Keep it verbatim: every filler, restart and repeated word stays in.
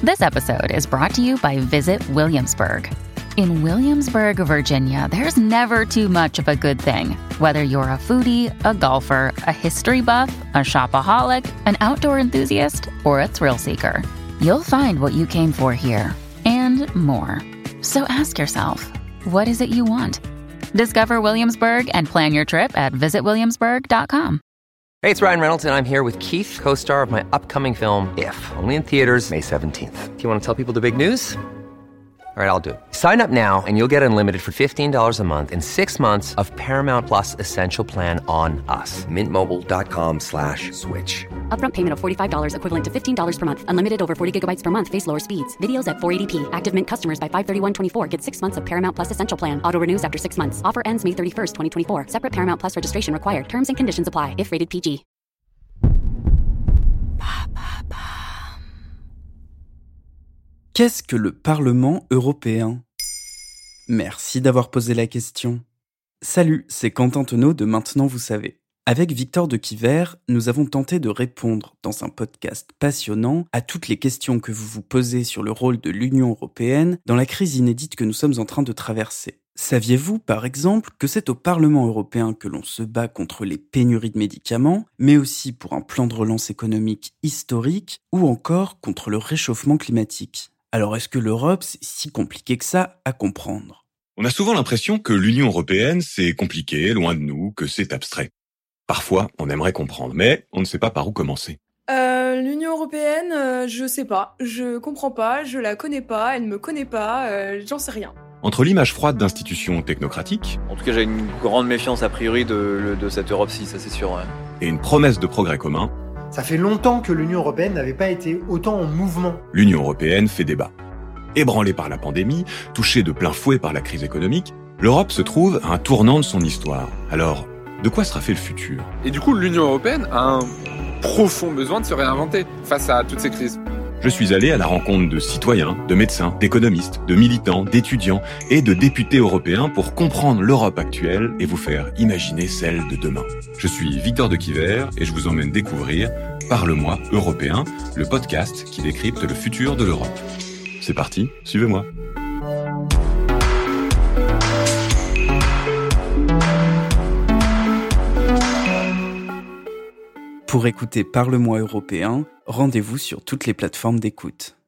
This episode is brought to you by Visit Williamsburg. In Williamsburg, Virginia, there's never too much of a good thing. Whether you're a foodie, a golfer, a history buff, a shopaholic, an outdoor enthusiast, or a thrill seeker, you'll find what you came for here and more. So ask yourself, what is it you want? Discover Williamsburg and plan your trip at visit williamsburg dot com. Hey, it's Ryan Reynolds, and I'm here with Keith, co-star of my upcoming film, If, only in theaters May seventeenth. Do you want to tell people the big news? All right, I'll do it. Sign up now and you'll get unlimited for fifteen dollars a month and six months of Paramount Plus Essential Plan on us. Mint Mobile dot com slash switch. Upfront payment of forty-five dollars equivalent to fifteen dollars per month. Unlimited over forty gigabytes per month. Face lower speeds. Videos at four eighty p. Active Mint customers by five thirty-one twenty-four get six months of Paramount Plus Essential Plan. Auto renews after six months. Offer ends May thirty-first, twenty twenty-four. Separate Paramount Plus registration required. Terms and conditions apply if rated P G. Qu'est-ce que le Parlement européen ? Merci d'avoir posé la question. Salut, c'est Quentin Tenot de Maintenant vous savez. Avec Victor de Quiver, nous avons tenté de répondre dans un podcast passionnant à toutes les questions que vous vous posez sur le rôle de l'Union européenne dans la crise inédite que nous sommes en train de traverser. Saviez-vous, par exemple, que c'est au Parlement européen que l'on se bat contre les pénuries de médicaments, mais aussi pour un plan de relance économique historique ou encore contre le réchauffement climatique ? Alors est-ce que l'Europe, c'est si compliqué que ça à comprendre ? On a souvent l'impression que l'Union européenne, c'est compliqué, loin de nous, que c'est abstrait. Parfois, on aimerait comprendre, mais on ne sait pas par où commencer. Euh, l'Union européenne, euh, je sais pas, je comprends pas, je la connais pas, elle me connaît pas, euh, j'en sais rien. Entre l'image froide d'institutions technocratiques... En tout cas, j'ai une grande méfiance a priori de, de cette Europe-ci, ça c'est sûr. Ouais. Et une promesse de progrès commun... Ça fait longtemps que l'Union européenne n'avait pas été autant en mouvement. L'Union européenne fait débat. Ébranlée par la pandémie, touchée de plein fouet par la crise économique, l'Europe se trouve à un tournant de son histoire. Alors, de quoi sera fait le futur ? Et du coup, l'Union européenne a un profond besoin de se réinventer face à toutes ces crises. Je suis allé à la rencontre de citoyens, de médecins, d'économistes, de militants, d'étudiants et de députés européens pour comprendre l'Europe actuelle et vous faire imaginer celle de demain. Je suis Victor de Quiver et je vous emmène découvrir Parle-moi européen, le podcast qui décrypte le futur de l'Europe. C'est parti, suivez-moi. Pour écouter Parle-moi européen, rendez-vous sur toutes les plateformes d'écoute.